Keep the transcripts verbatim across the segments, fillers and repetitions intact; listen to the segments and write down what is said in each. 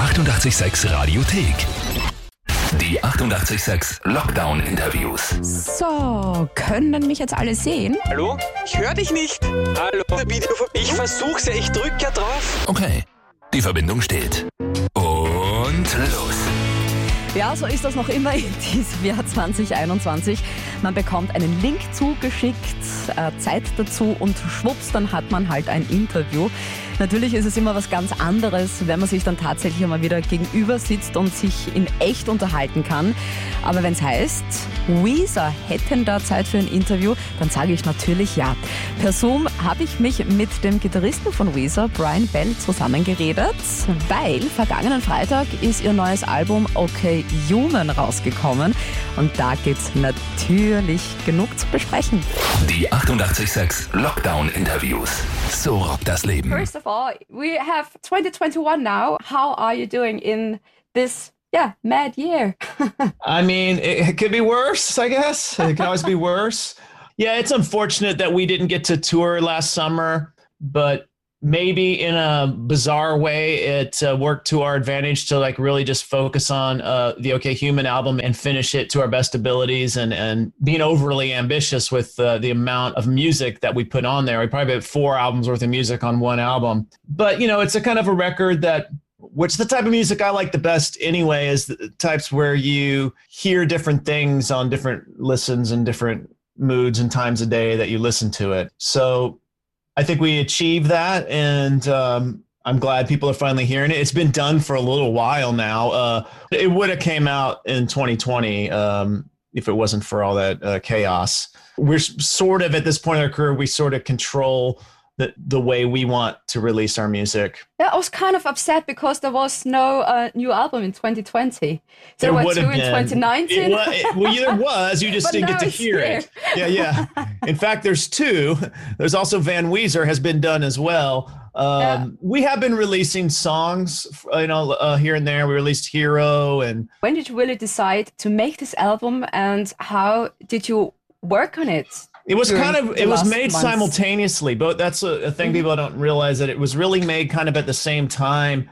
achtundachtzig Komma sechs Radiothek. Die achtundachtzig Komma sechs Lockdown-Interviews. So, können mich jetzt alle sehen? Hallo? Ich höre dich nicht. Hallo? Ich versuch's ja, ich drück ja drauf. Okay, die Verbindung steht. Und los. Ja, so ist das noch immer in diesem Jahr zwanzig einundzwanzig. Man bekommt einen Link zugeschickt, äh, Zeit dazu und schwupps, dann hat man halt ein Interview. Natürlich ist es immer was ganz anderes, wenn man sich dann tatsächlich einmal wieder gegenüber sitzt und sich in echt unterhalten kann. Aber wenn es heißt, Weezer hätten da Zeit für ein Interview, dann sage ich natürlich ja. Per Zoom habe ich mich mit dem Gitarristen von Weezer, Brian Bell, zusammengeredet, weil vergangenen Freitag ist ihr neues Album Okay Human rausgekommen und da gibt's natürlich genug zu besprechen. Die achtundachtzig Komma sechs Lockdown-Interviews. So rockt das Leben. First of all, we have twenty twenty-one now. How are you doing in this, yeah, mad year? I mean, it, it could be worse, I guess. It can always be worse. Yeah, it's unfortunate that we didn't get to tour last summer, but maybe in a bizarre way, it uh, worked to our advantage to like really just focus on uh, the OK Human album and finish it to our best abilities and, and being overly ambitious with uh, the amount of music that we put on there. We probably had four albums worth of music on one album. But, you know, it's a kind of a record that, which the type of music I like the best anyway, is the types where you hear different things on different listens and different moods and times of day that you listen to it. So I think we achieved that, and um, I'm glad people are finally hearing it. It's been done for a little while now. Uh, it would have came out in twenty twenty um, if it wasn't for all that uh, chaos. We're sort of, at this point in our career, we sort of control the, the way we want to release our music. Yeah, I was kind of upset because there was no uh, new album in twenty twenty. There, there were would two have in been. twenty nineteen. It was, it, well, there was. You just But didn't now get to it's hear here. it. Yeah, yeah. In fact, there's two. There's also Van Weezer has been done as well. Um, Yeah. We have been releasing songs, you know, uh, here and there. We released Hero, and When did you really decide to make this album, and how did you work on it? it was during kind of the it was last made months? simultaneously. But that's a, a thing Mhm. people don't realize, that it was really made kind of at the same time.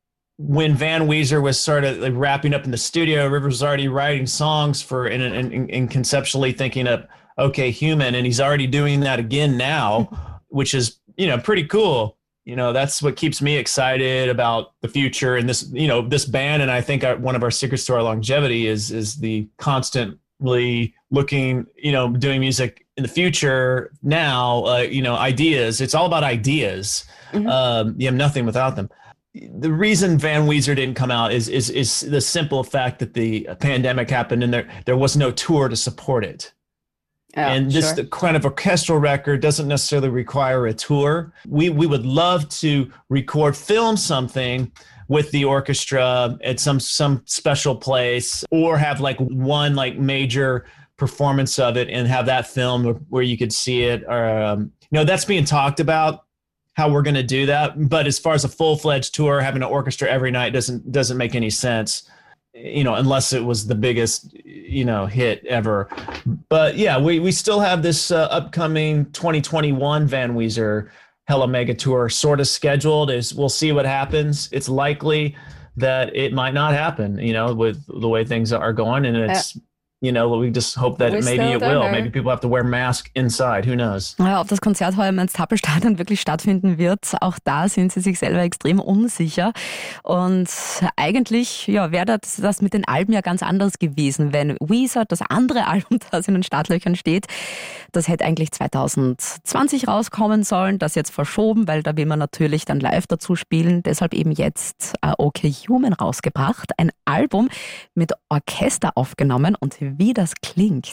When Van Weezer was sort of like wrapping up in the studio, Rivers was already writing songs for and, and, and conceptually thinking of OK Human, and he's already doing that again now, which is, you know, pretty cool. You know, that's what keeps me excited about the future and this, you know, this band. And I think our, one of our secrets to our longevity is is the constantly looking, you know, doing music in the future now. Uh, you know, ideas. It's all about ideas. Mhm. Um, you have nothing without them. The reason Van Weezer didn't come out is is is the simple fact that the pandemic happened and there there was no tour to support it. Yeah, and this sure. the kind of orchestral record doesn't necessarily require a tour. We we would love to record, film something with the orchestra at some some special place, or have like one like major performance of it and have that filmed where you could see it. Or um, you know, that's being talked about, how we're going to do that. But as far as a full-fledged tour, having an orchestra every night doesn't doesn't make any sense, you know, unless it was the biggest, you know, hit ever. But yeah, we, we still have this uh, upcoming twenty twenty-one Van Weezer Hella Mega Tour sort of scheduled. Is we'll see what happens. It's likely that it might not happen, you know, with the way things are going. And it's, you know, we just hope that We maybe still it don't will. know. Maybe people have to wear masks inside. Who knows? Ja, ob das Konzert heuer im Enztappelstadion wirklich stattfinden wird, auch da sind sie sich selber extrem unsicher. Und eigentlich ja, wäre das, das mit den Alben ja ganz anders gewesen, wenn Weezer, das andere Album, das in den Startlöchern steht, das hätte eigentlich zwanzig zwanzig rauskommen sollen, das jetzt verschoben, weil da will man natürlich dann live dazu spielen. Deshalb eben jetzt äh, OK Human rausgebracht, ein Album mit Orchester aufgenommen und wie das klingt,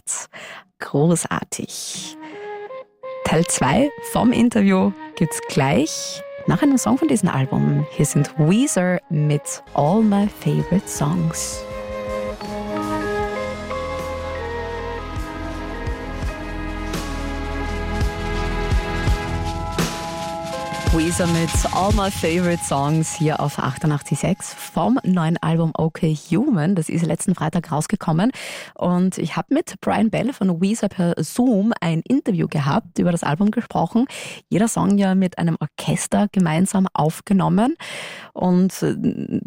großartig. Teil zwei vom Interview gibt's gleich nach einem Song von diesem Album. Hier sind Weezer mit All My Favorite Songs. Weezer mit All My Favorite Songs hier auf achtundachtzig Komma sechs vom neuen Album OK Human. Das ist letzten Freitag rausgekommen und ich habe mit Brian Bell von Weezer per Zoom ein Interview gehabt, über das Album gesprochen. Jeder Song ja mit einem Orchester gemeinsam aufgenommen und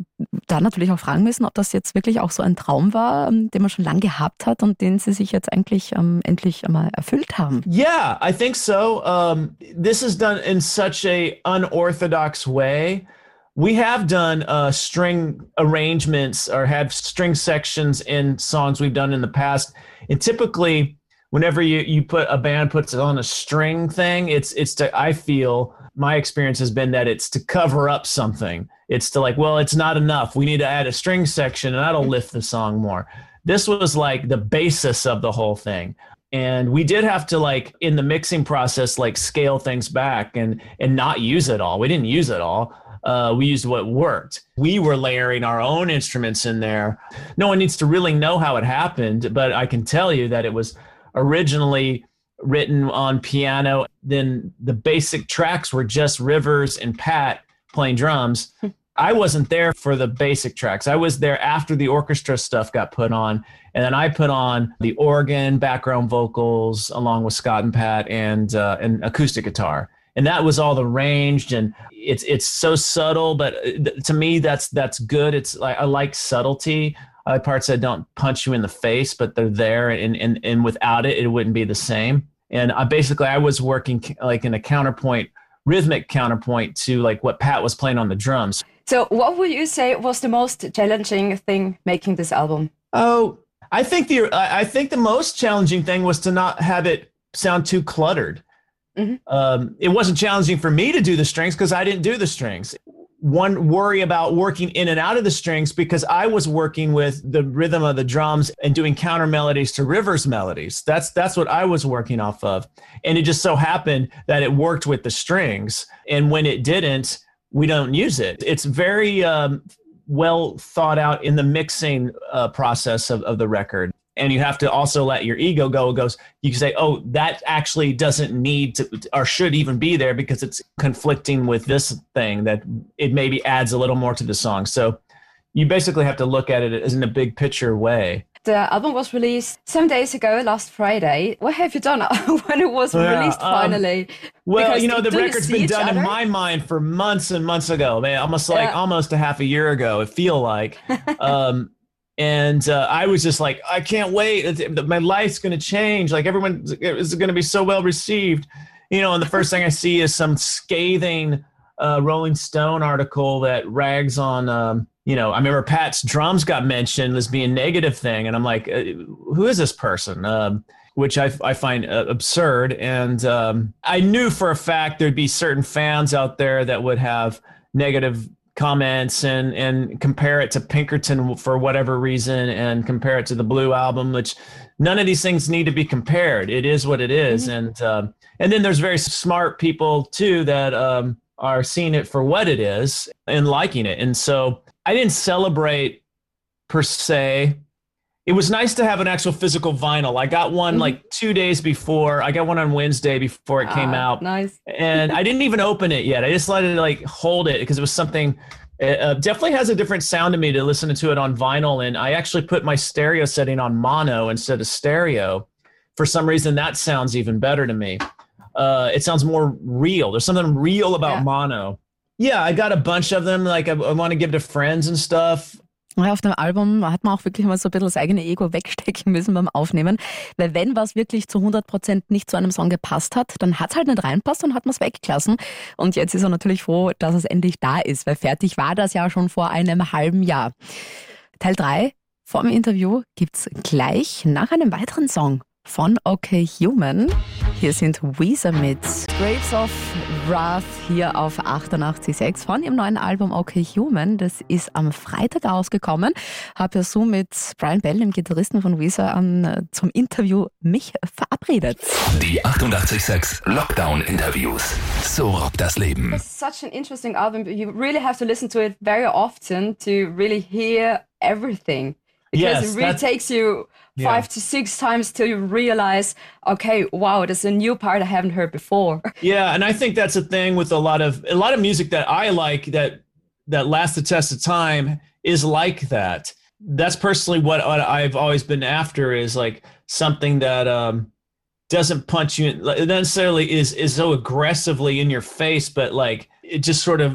da natürlich auch fragen müssen, ob das jetzt wirklich auch so ein Traum war, den man schon lange gehabt hat und den Sie sich jetzt eigentlich ähm, endlich einmal erfüllt haben. Yeah, I think so. Um, this is done in such a unorthodox way. We have done uh, string arrangements or had string sections in songs we've done in the past. And typically, whenever you, you put a band puts it on a string thing, it's it's to, I feel my experience has been that it's to cover up something. It's to like, well, it's not enough. We need to add a string section and that'll lift the song more. This was like the basis of the whole thing. And we did have to like in the mixing process, like scale things back and and not use it all. We didn't use it all. Uh, we used what worked. We were layering our own instruments in there. No one needs to really know how it happened, but I can tell you that it was originally written on piano. Then the basic tracks were just Rivers and Pat playing drums. I wasn't there for the basic tracks. I was there after the orchestra stuff got put on. And then I put on the organ, background vocals, along with Scott and Pat, and uh, and acoustic guitar. And that was all arranged, and it's it's so subtle, but to me that's that's good. It's like I like subtlety. I like parts that don't punch you in the face, but they're there, and and and without it, it wouldn't be the same. And I basically I was working like in a counterpoint, rhythmic counterpoint to like what Pat was playing on the drums. So, what would you say was the most challenging thing making this album? Oh, I think the I think the most challenging thing was to not have it sound too cluttered. Mm-hmm. Um, it wasn't challenging for me to do the strings because I didn't do the strings. One worry about working in and out of the strings because I was working with the rhythm of the drums and doing counter melodies to Rivers melodies. That's that's what I was working off of. And it just so happened that it worked with the strings. And when it didn't, we don't use it. It's very um, well thought out in the mixing uh, process of, of the record. And you have to also let your ego go. It goes, you can say, oh, that actually doesn't need to or should even be there because it's conflicting with this thing that it maybe adds a little more to the song. So you basically have to look at it as in a big picture way. The album was released some days ago, last Friday. What have you done when it was yeah, released finally? Um, well, because you know, the do record's been done other? in my mind for months and months ago, man, almost like yeah. almost a half a year ago, it feel like. um, And uh, I was just like, I can't wait. My life's going to change. Like everyone is going to be so well received. You know, and the first thing I see is some scathing uh, Rolling Stone article that rags on, um, you know, I remember Pat's drums got mentioned as being a negative thing. And I'm like, uh, who is this person? Um, which I, I find uh, absurd. And um, I knew for a fact there'd be certain fans out there that would have negative comments and and compare it to Pinkerton for whatever reason and compare it to the Blue Album, which none of these things need to be compared. It is what it is. Mm-hmm. And um, and then there's very smart people too that um, are seeing it for what it is and liking it. And so I didn't celebrate per se. It was nice to have an actual physical vinyl. I got one mm-hmm. like two days before. I got one on Wednesday before it came ah, out. Nice. And I didn't even open it yet. I just let it like hold it because it was something, it uh, definitely has a different sound to me to listen to it on vinyl. And I actually put my stereo setting on mono instead of stereo. For some reason, that sounds even better to me. Uh, it sounds more real. There's something real about yeah. mono. Yeah, I got a bunch of them. Like I, I want to give to friends and stuff. Ja, auf dem Album hat man auch wirklich mal so ein bisschen das eigene Ego wegstecken müssen beim Aufnehmen, weil wenn was wirklich zu hundert Prozent nicht zu einem Song gepasst hat, dann hat es halt nicht reinpasst und hat man es weggelassen. Und jetzt ist er natürlich froh, dass es endlich da ist, weil fertig war das ja schon vor einem halben Jahr. Teil drei vom Interview gibt's gleich nach einem weiteren Song von Okay Human. Hier sind Weezer mit Grapes of Wrath hier auf achtundachtzig Komma sechs von ihrem neuen Album Okay Human. Das ist am Freitag rausgekommen. Habe ja so mit Brian Bell, dem Gitarristen von Weezer, um, zum Interview mich verabredet. Die achtundachtzig Komma sechs Lockdown-Interviews. So rockt das Leben. It's such an interesting album. You really have to listen to it very often to really hear everything. Because yes, it really takes you five yeah. to six times till you realize, okay, wow, there's a new part I haven't heard before. Yeah, and I think that's a thing with a lot of a lot of music that I like that that lasts the test of time is like that. That's personally what, what I've always been after is like something that um, doesn't punch you in, necessarily is is so aggressively in your face, but like it just sort of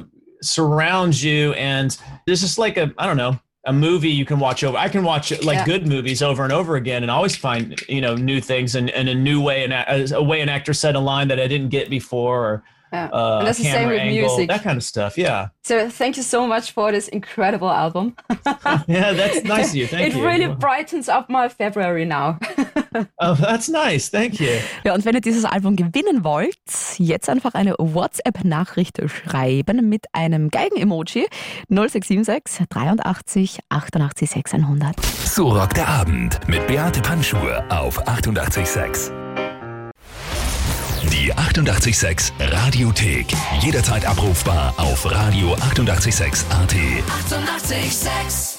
surrounds you, and there's just like a, I don't know, a movie you can watch over. I can watch like Yeah. good movies over and over again and always find, you know, new things and, and a new way, and a, a way an actor said a line that I didn't get before, or Yeah. uh, And that's a the same camera with angle, music. that kind of stuff. Yeah. So thank you so much for this incredible album. Yeah, that's nice of you. Thank It you. really brightens up my February now. Oh, that's nice. Thank you. Ja, und wenn ihr dieses Album gewinnen wollt, jetzt einfach eine WhatsApp-Nachricht schreiben mit einem Geigen-Emoji null sechs sieben sechs dreiundachtzig achtundachtzig sechshundert. So rockt der Abend mit Beate Panschur auf achtundachtzig Komma sechs. Die achtundachtzig Komma sechs Radiothek. Jederzeit abrufbar auf radio achtundachtzig Komma sechs Punkt a t. achtundachtzig Komma sechs